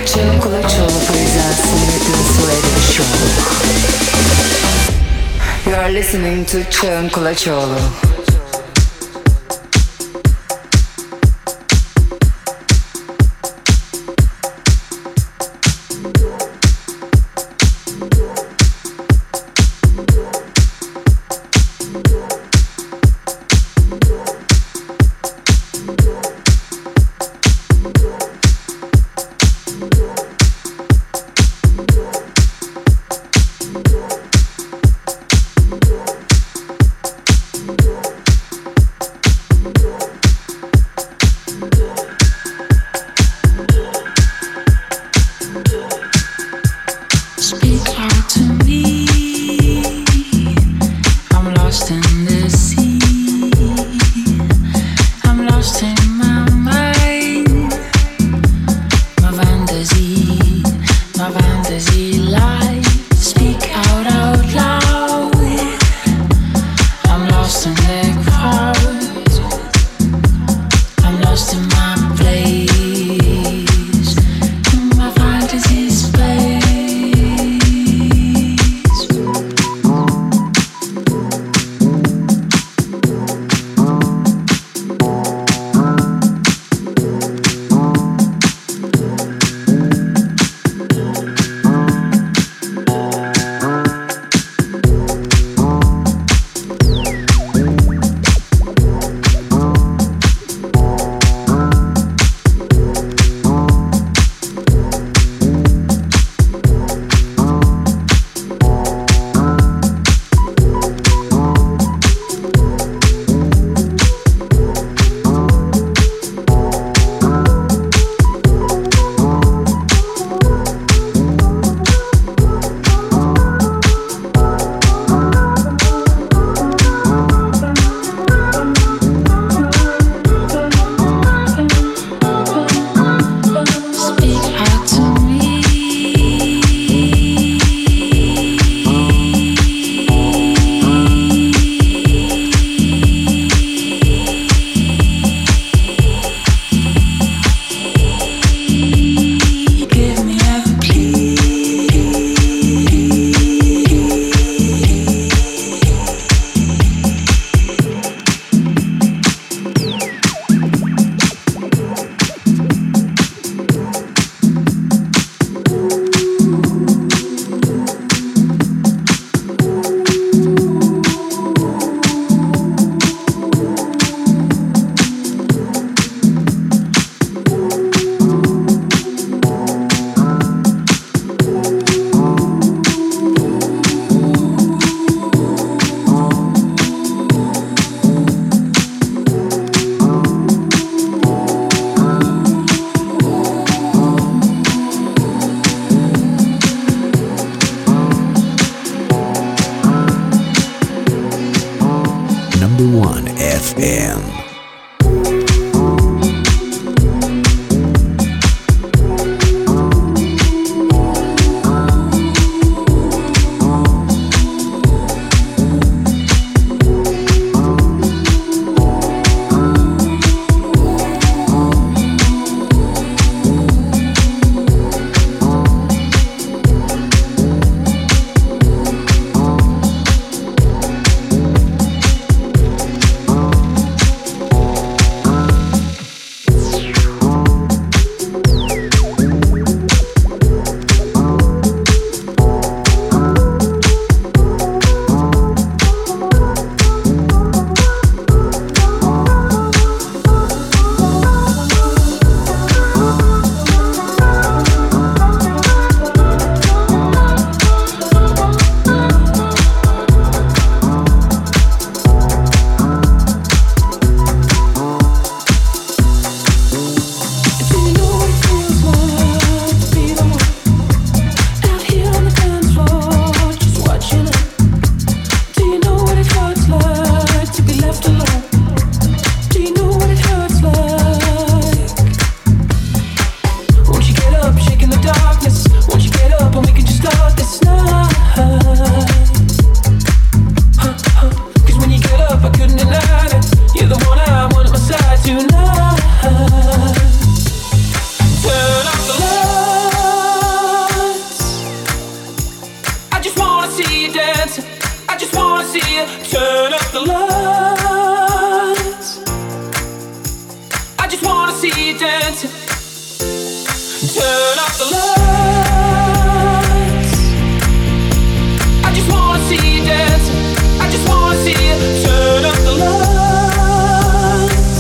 Colaciolo presents Newton's radio show. You are listening to Cern Colaciolo. just wanna see you dancing. Turn off the lights. I just wanna see you dancing. I just wanna see you. Turn off the lights.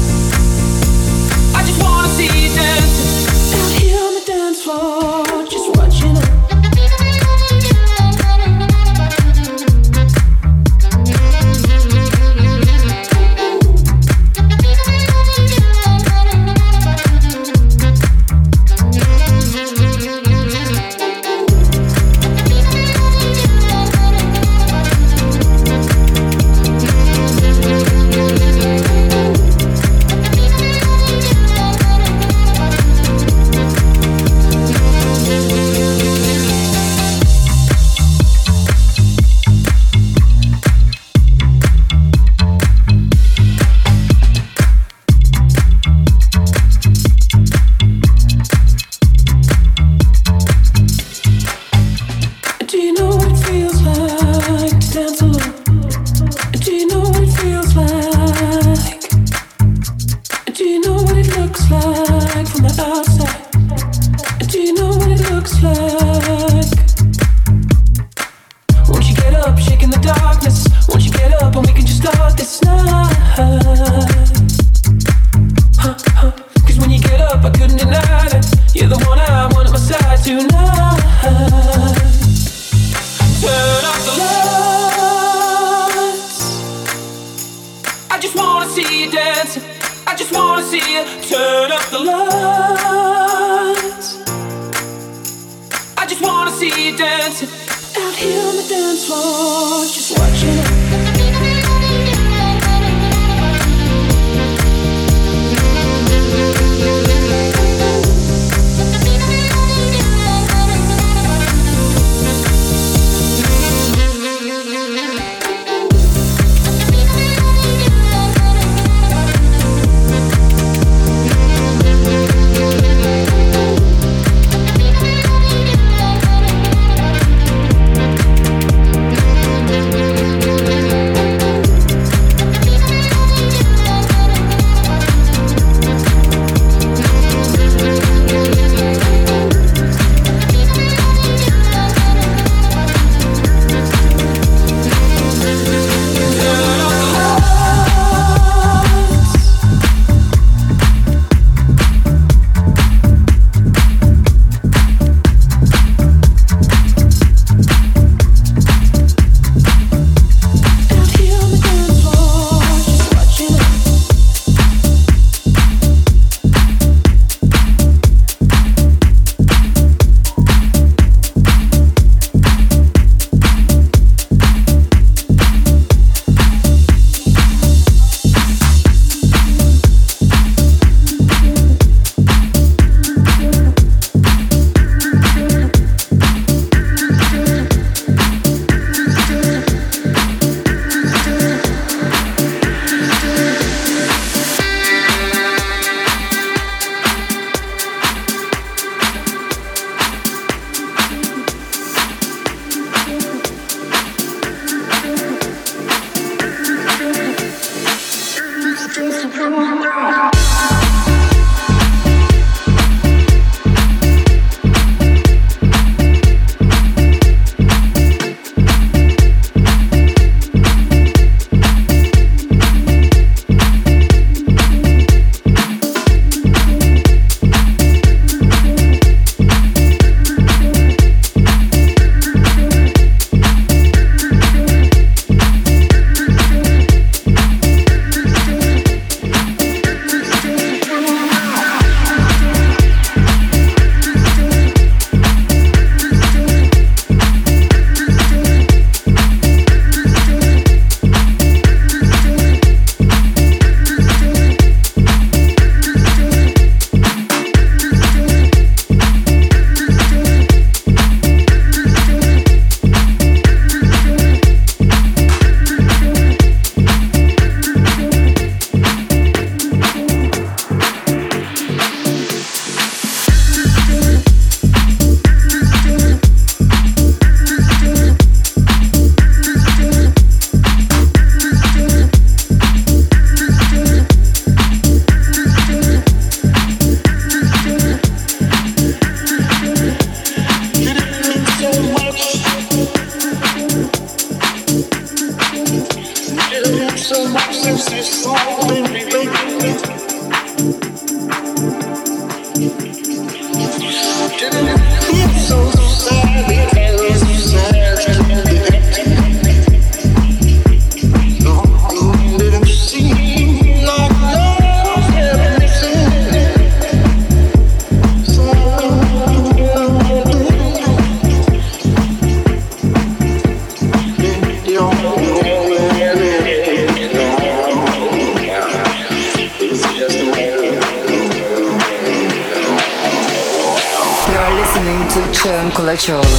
I just wanna see you dancing. Out here on the dance floor, just watching it. listening to Çağın Kulaçoğlu.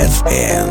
DFM.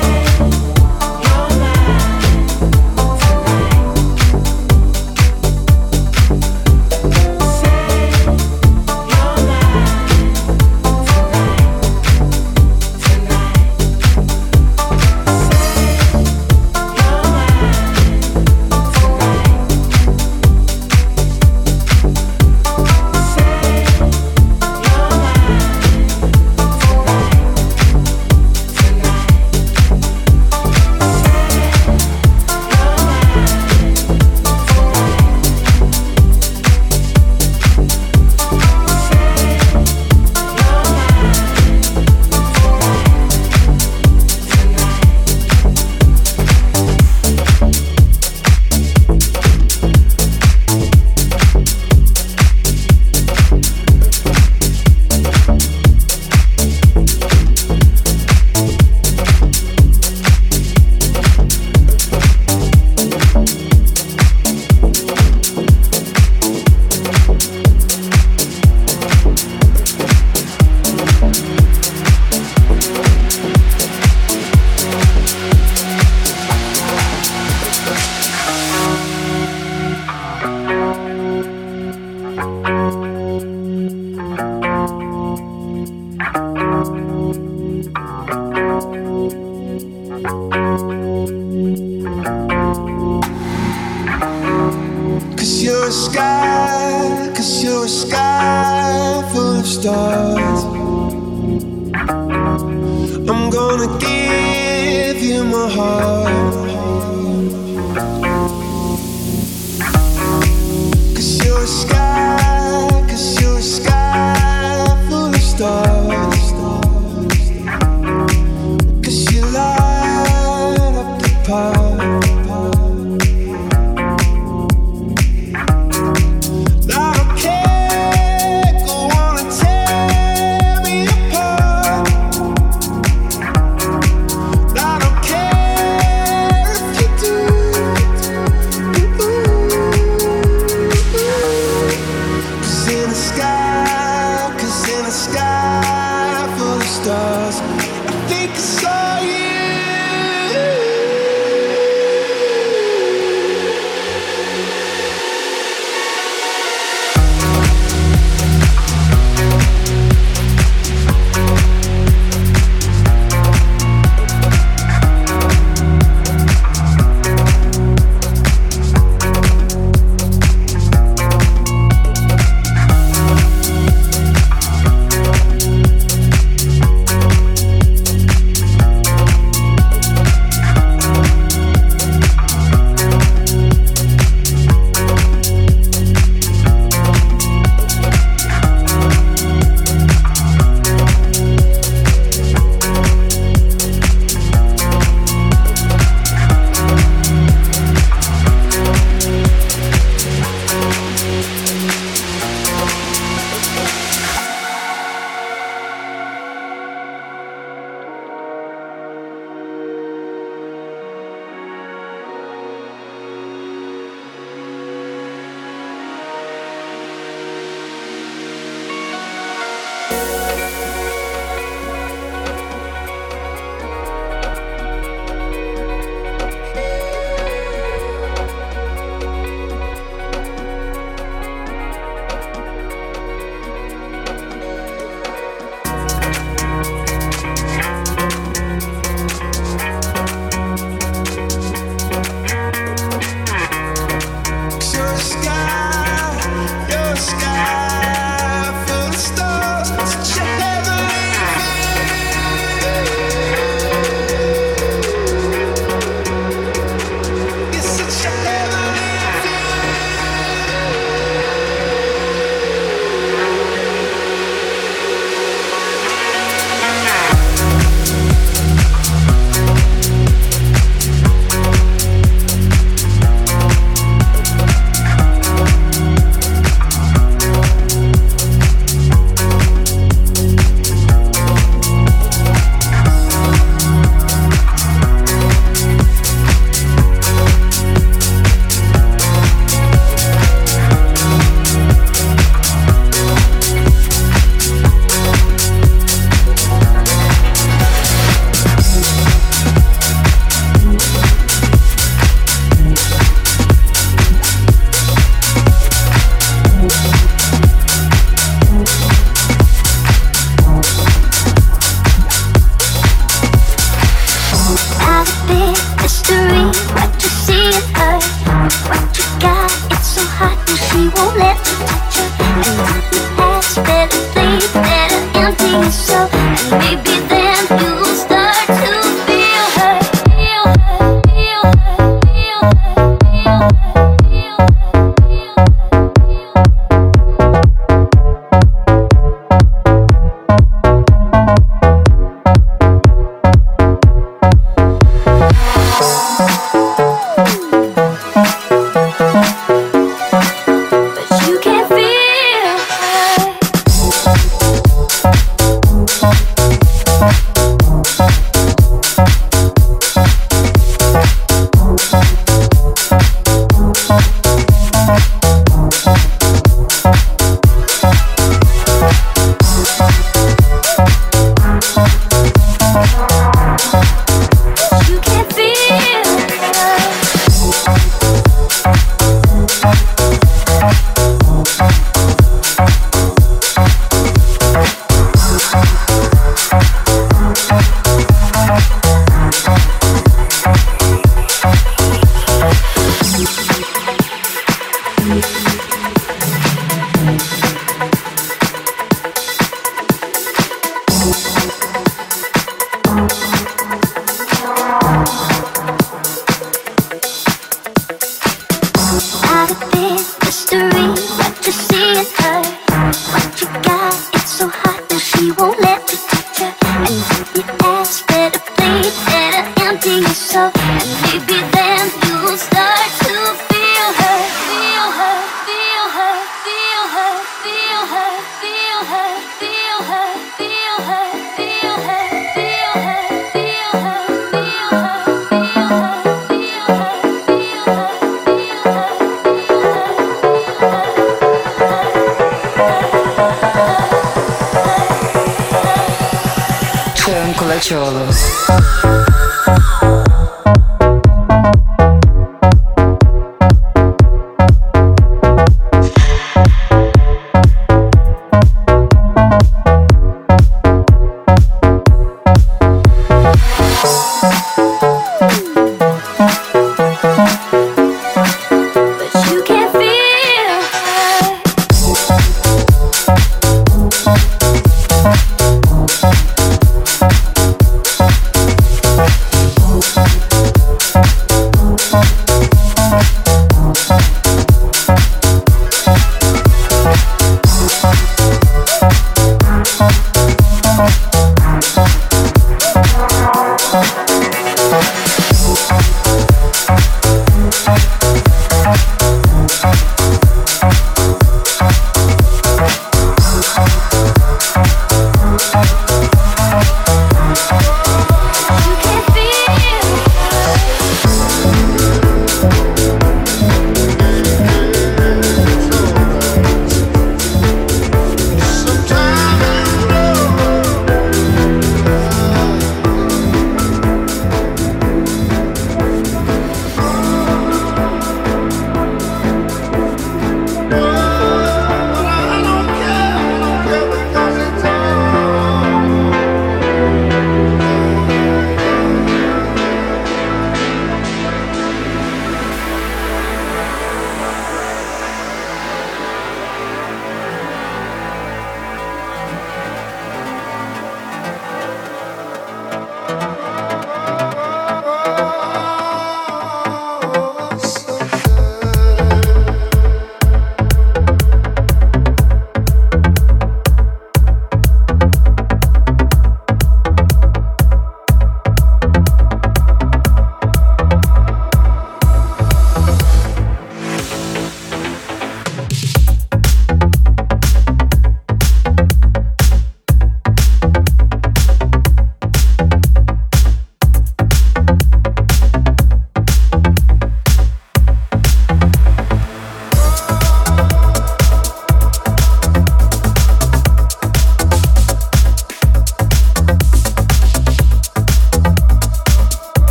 Cause you're a sky full of stars. I'm gonna give you my heart. Cause you're a sky full of stars. Cause you light up the park.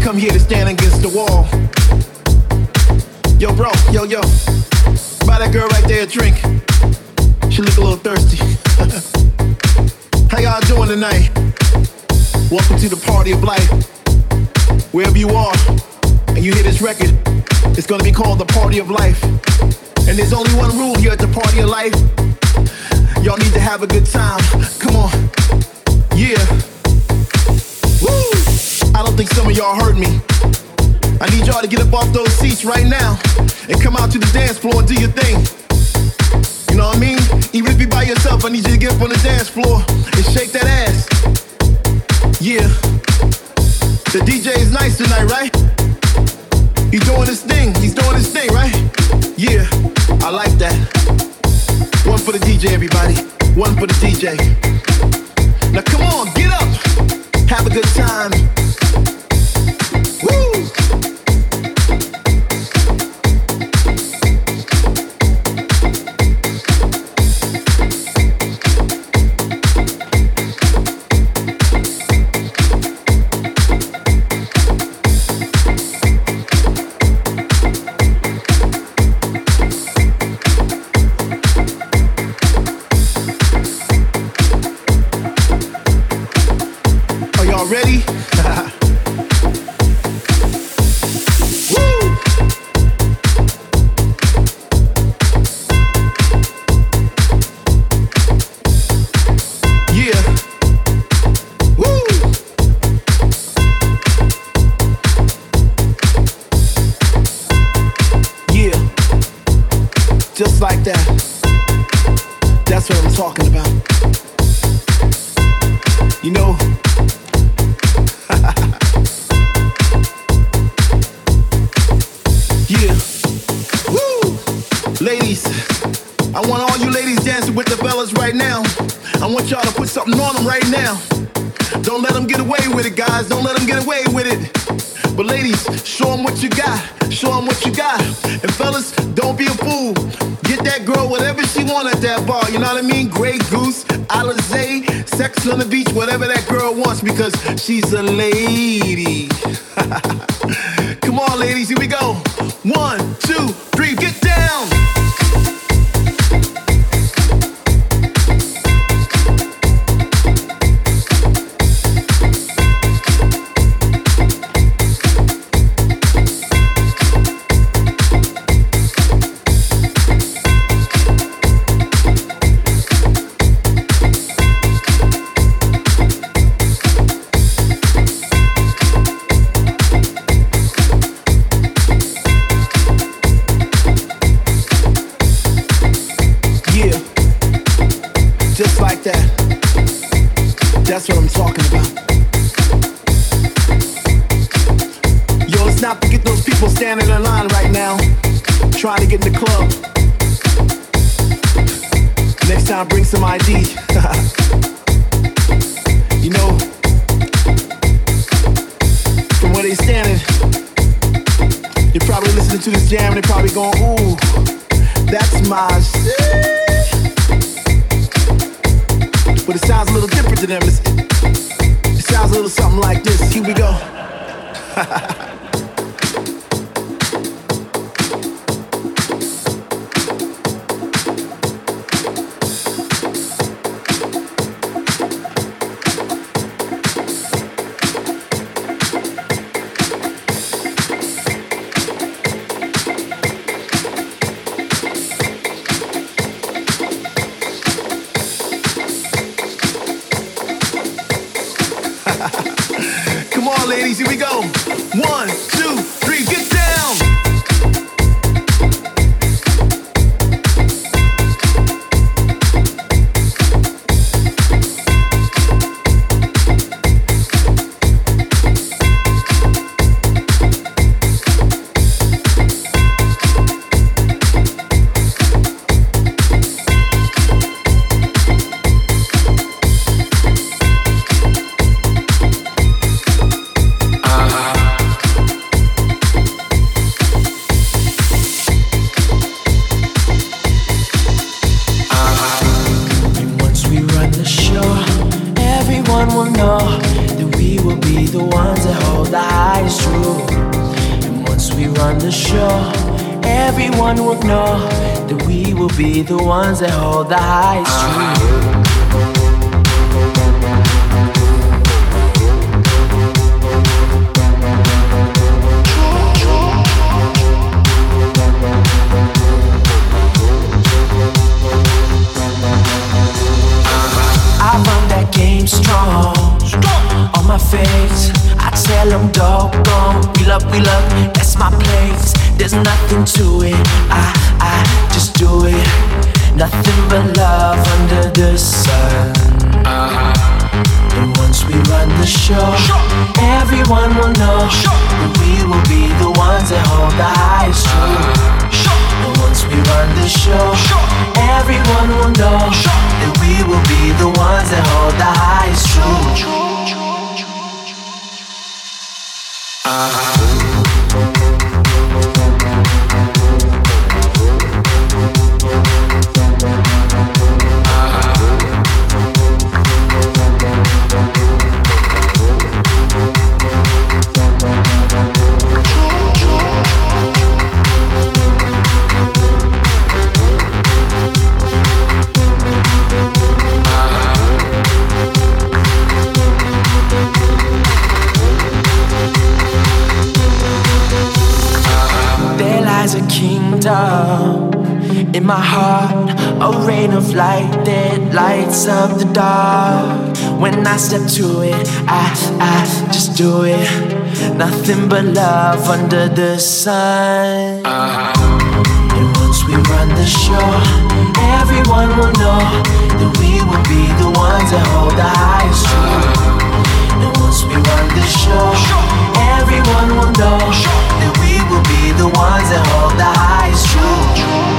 come here to stand against the wall. Yo, bro, yo. Buy that girl right there a drink. She look a little thirsty. How y'all doing tonight? Welcome to the party of life. Wherever you are, and you hear this record, it's gonna be called the party of life. And there's only one rule here at the party of life. Y'all need to have a good time. Come on. Yeah. Woo! I don't think some of y'all heard me. I need y'all to get up off those seats right now and come out to the dance floor and do your thing. You know what I mean? Even if you're by yourself, I need you to get up on the dance floor and shake that ass. Yeah. The DJ is nice tonight, right? He's doing his thing, right? Yeah, I like that. One for the DJ, everybody. One for the DJ. Now come on, get up. Have a good time. Woo! Ready? Woo! Yeah. Woo! Yeah. Just like that. That's what I'm talking about. You know, yeah. Woo! Ladies, I want all you ladies dancing with the fellas right now. I want y'all to put something on them right now. Don't let them get away with it, guys. Don't let them get away with it. But ladies, show them what you got. Show them what you got. And fellas, don't be a fool. Get that girl whatever she want at that bar. You know what I mean? Grey Goose, Alizé, Sex on the Beach, whatever that girl wants, because she's a lady. Come on, ladies, here we go. 1, 2, 3, get down. Just like that. That's what I'm talking about. Yo, let's not forget those people standing in line right now, trying to get in the club. Next time, bring some ID. You know, from where they standing, they're probably listening to this jam and they're probably going, ooh, that's my shit. But it sounds a little different to them. It sounds a little something like this. Here we go. Come on, ladies, here we go. 1, 2, 3, get down. Everyone will know that we will be the ones that hold the highest truth. And once we run the show, everyone will know that we will be the ones that hold the highest truth. I run that game strong. On my face, I tell them doggone. We love, that's my place. There's nothing to it, I just do it. Nothing but love under the sun. And once we run the show, everyone will know that we will be the ones that hold the highest truth. And once we run the show, everyone will know that we will be the ones that hold the highest truth. A kingdom in my heart, a rain of light that lights up the dark. When I step to it, I just do it. Nothing but love under the sun. And once we run the show, everyone will know that we will be the ones that hold the highest truth. And once we run the show, everyone will know that we will be the ones that hold the highest truth.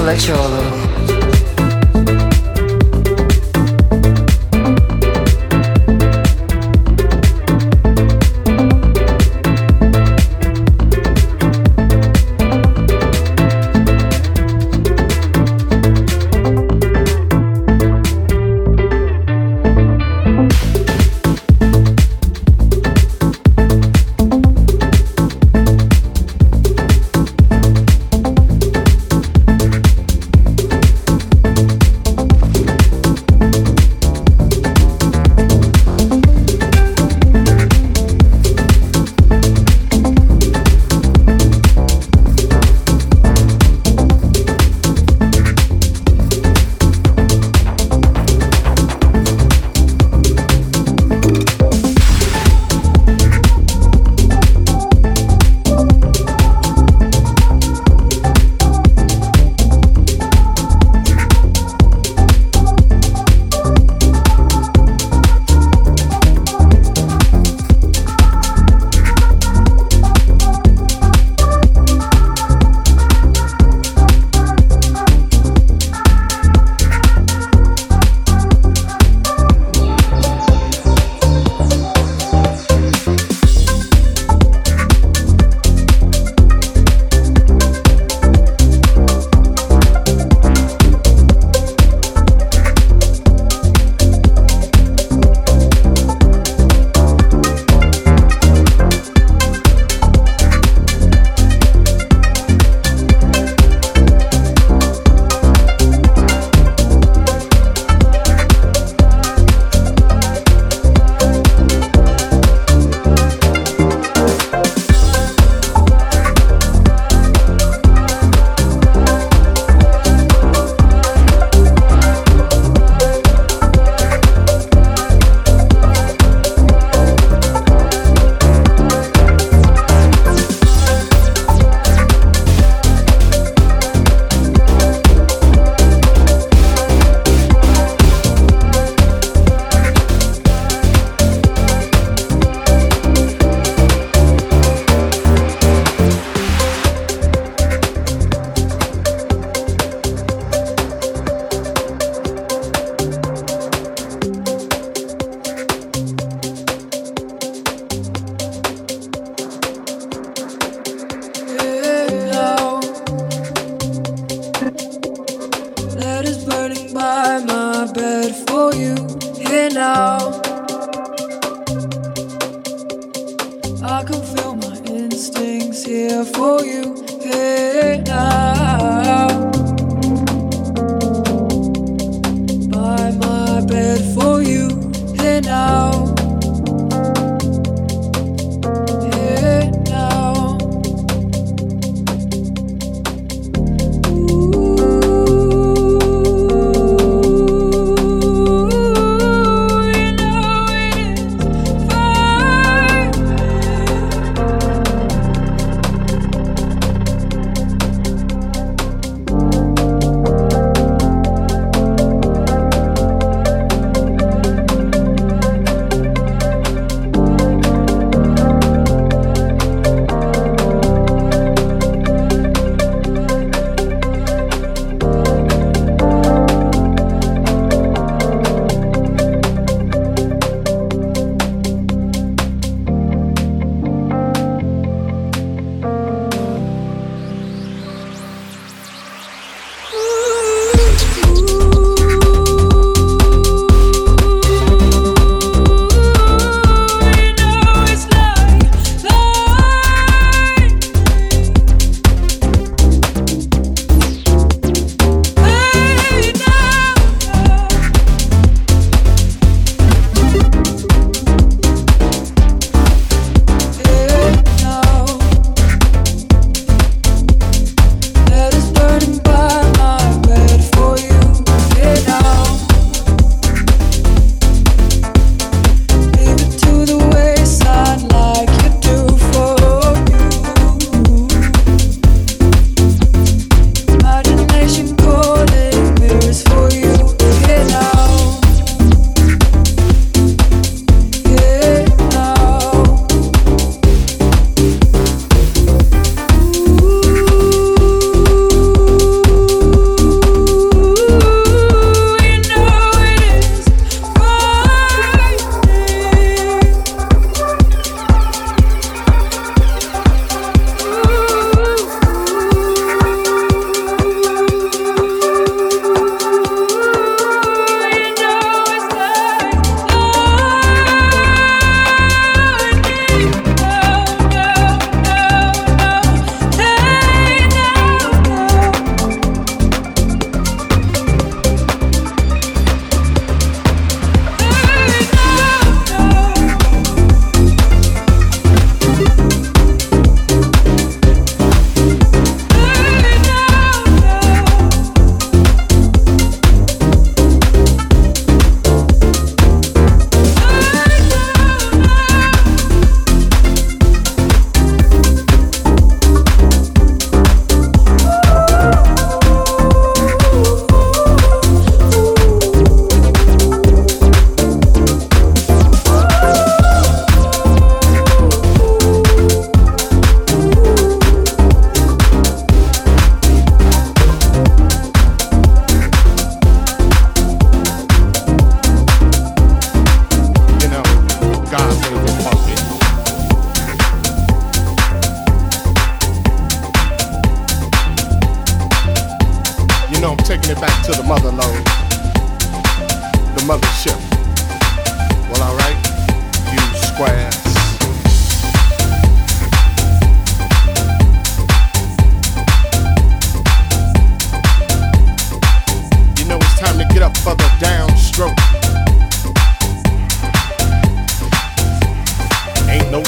Kolaçoğlu.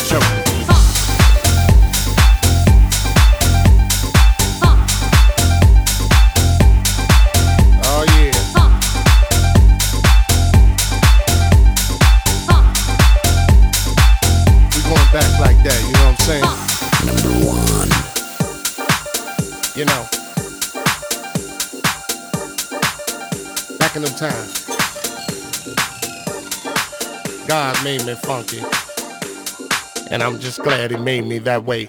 choking. Oh yeah. We going back like that, you know what I'm saying? Number one. You know. Back in them times. God made me funky. And I'm just glad he made me that way.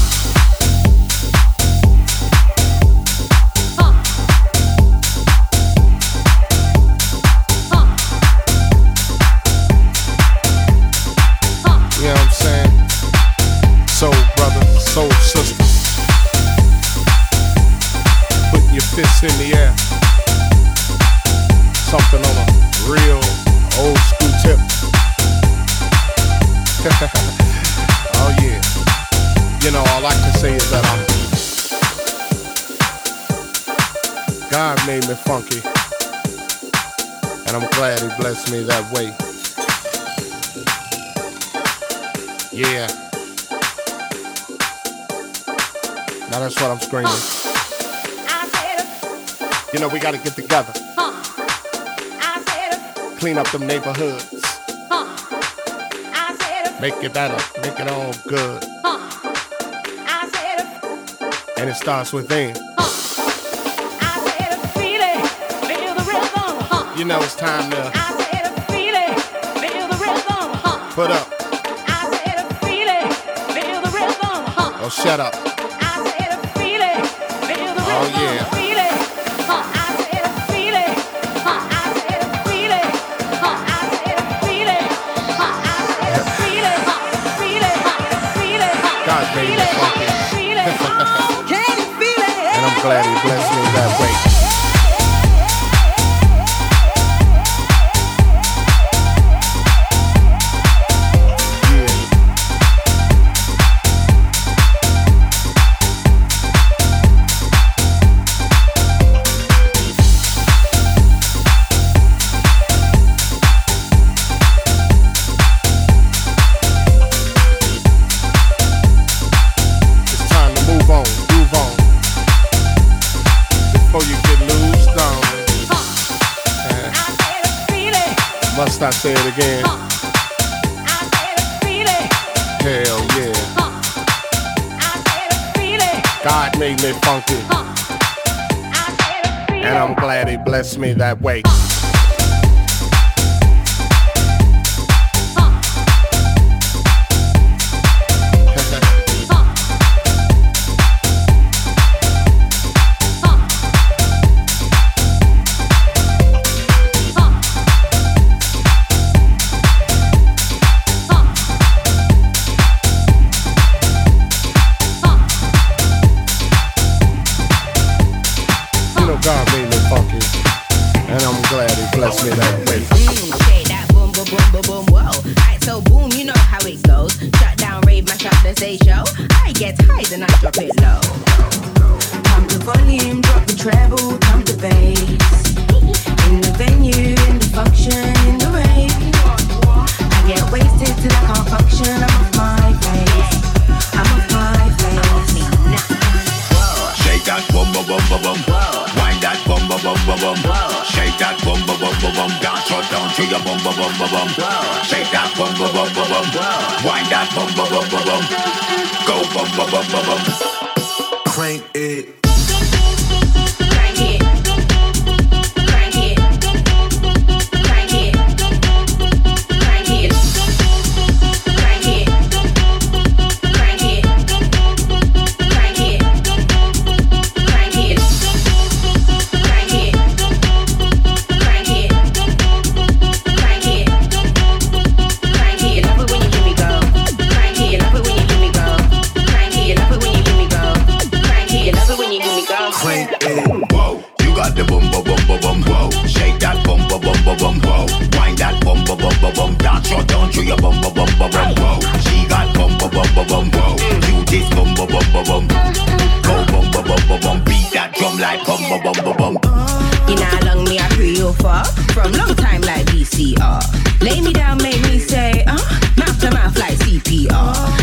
You know what I'm saying? Soul brother, soul sister. Putting your fists in the air. Something on a real old school tip. Oh yeah. You know, all I can say is that God made me funky. And I'm glad he blessed me that way. Yeah. Now that's what I'm screaming. You know, we gotta get together. Clean up them neighborhoods. Make it better, make it all good. And it starts within. You know it's time to put up. Oh, shut up. Oh yeah. God made me funky. And I'm glad he blessed me that way. Must I say it again? Hell yeah. God made me funky. And I'm glad he blessed me that way. God made me funky, and I'm glad he blessed me that way. Shake that boom, boom, boom, boom, boom, whoa. Alright, so boom, you know how it goes. Shut down, rave, mash up the stage show. I get high, then I drop it low. Pump the volume, drop the treble, pump the bass. In the venue, in the function, in the rave. I get wasted till I can't function. I'm off my face. I'm off my face. Shake that boom, boom, boom, boom, boom. Wind that bum bum bum bum bum. Shake that bum bum bum bum bum. Dance right down to your bum bum bum bum bum. Shake that bum bum bum bum bum. Wind that bum bum bum bum bum. Go bum bum bum bum bum. Crank it. Crank it. Crank it. Crank it. Crank it. Crank it. Crank it. Crank it. Crank it. Whoa, you got the bum bum bum bum bum. Whoa, shake that bum bum bum bum bum. Whoa, wind that bum bum bum bum bum. Dance your down to your bum bum bum bum bum. Whoa, she got bum bum bum bum bum. Whoa, you this bum bum bum bum bum. Go bum bum bum bum bum. Beat that drum like bum bum bum bum bum. You know how long me I pre you for? From long time like VCR. Lay me down, make me say, mouth to mouth like CPR.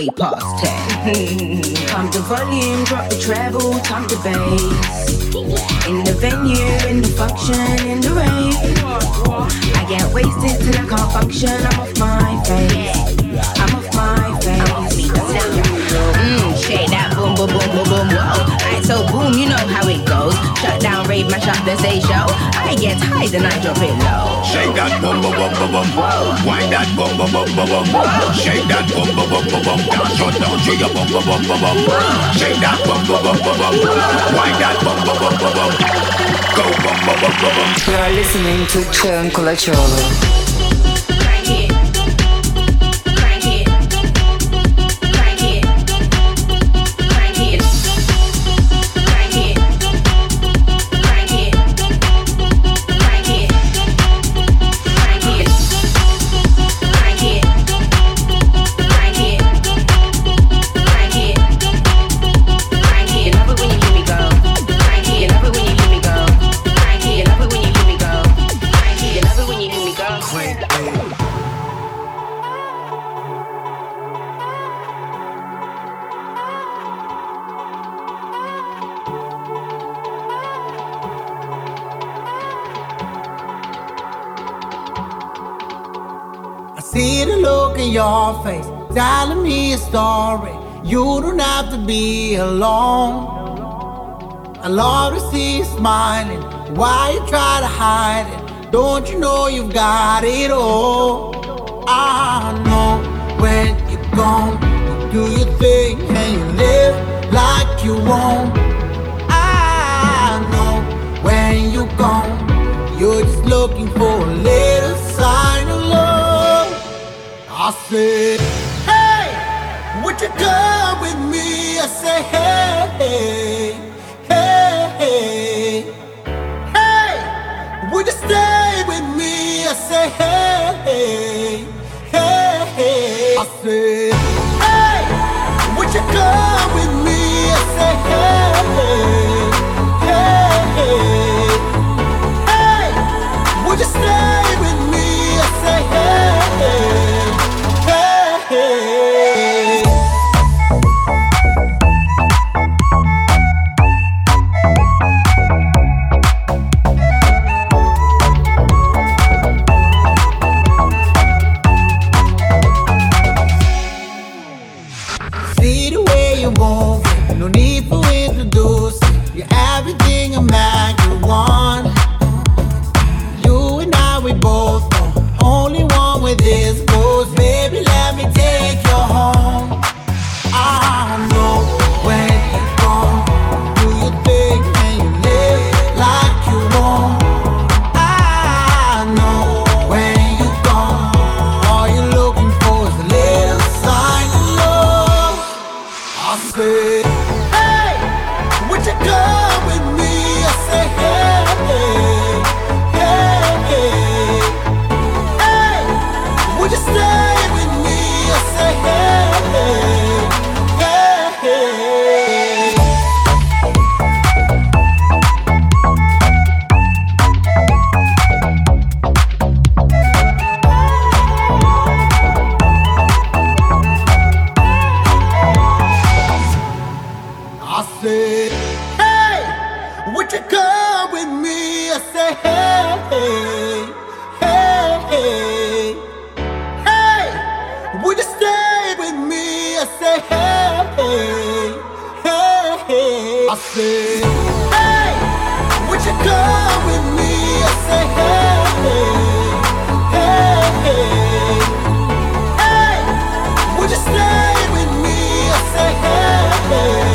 20 past 10. Pump the volume, drop the treble, pump the bass. In the venue, in the function, in the rave. I get wasted till I can't function. I'm off my face. I'm off my face. Shake that boom, boom, boom, boom, boom, whoa. Alright, so boom, you know how it goes. Shut down, rave, mash up the stage show. I get high, then I drop it low. Shake that boom, boom, boom, boom, boom. Wind that boom, boom, boom, boom, boom. Shake that boom, boom, boom, boom, boom. Dance shut down to your boom, boom, boom, boom, boom. Shake that boom, boom, boom, boom, boom. Wind that boom, boom, boom, boom, boom. Go boom, boom, boom, boom, boom. You are listening to Cern Kulacoglu. See the look in your face, telling me a story. You don't have to be alone. I love to see you smiling. Why you try to hide it? Don't you know you've got it all? I know when you're gone, you do your thing and you live like you won't. I know when you're gone, you're just looking for a little sign of love. I said, hey, would you come with me? I say, hey, hey, hey, hey, would you stay with me? I say, hey, hey, hey, hey. I said, hey, would you come with me? I say, hey, hey, hey, hey, would you stay with me? I say, hey, hey. See the way you move, no need for introducing. You're everything a man could want. You and I, we both know, only one with this goes. Baby, let me take you home. I know when you're gone, do your thing and you live like you want. I know when you're gone, all you're looking for is a little sign of love. I say, hey, would you come with me? I say, hey, hey, hey, hey, would you stay with me? I say, hey, hey, hey, hey. I said, hey, would you come with me? I say, hey, hey, hey, hey, would you stay with me? I say, hey, hey, hey. I said, hey, would you come with me? I say, hey, hey, hey, would you stay with me? I say, hey, hey.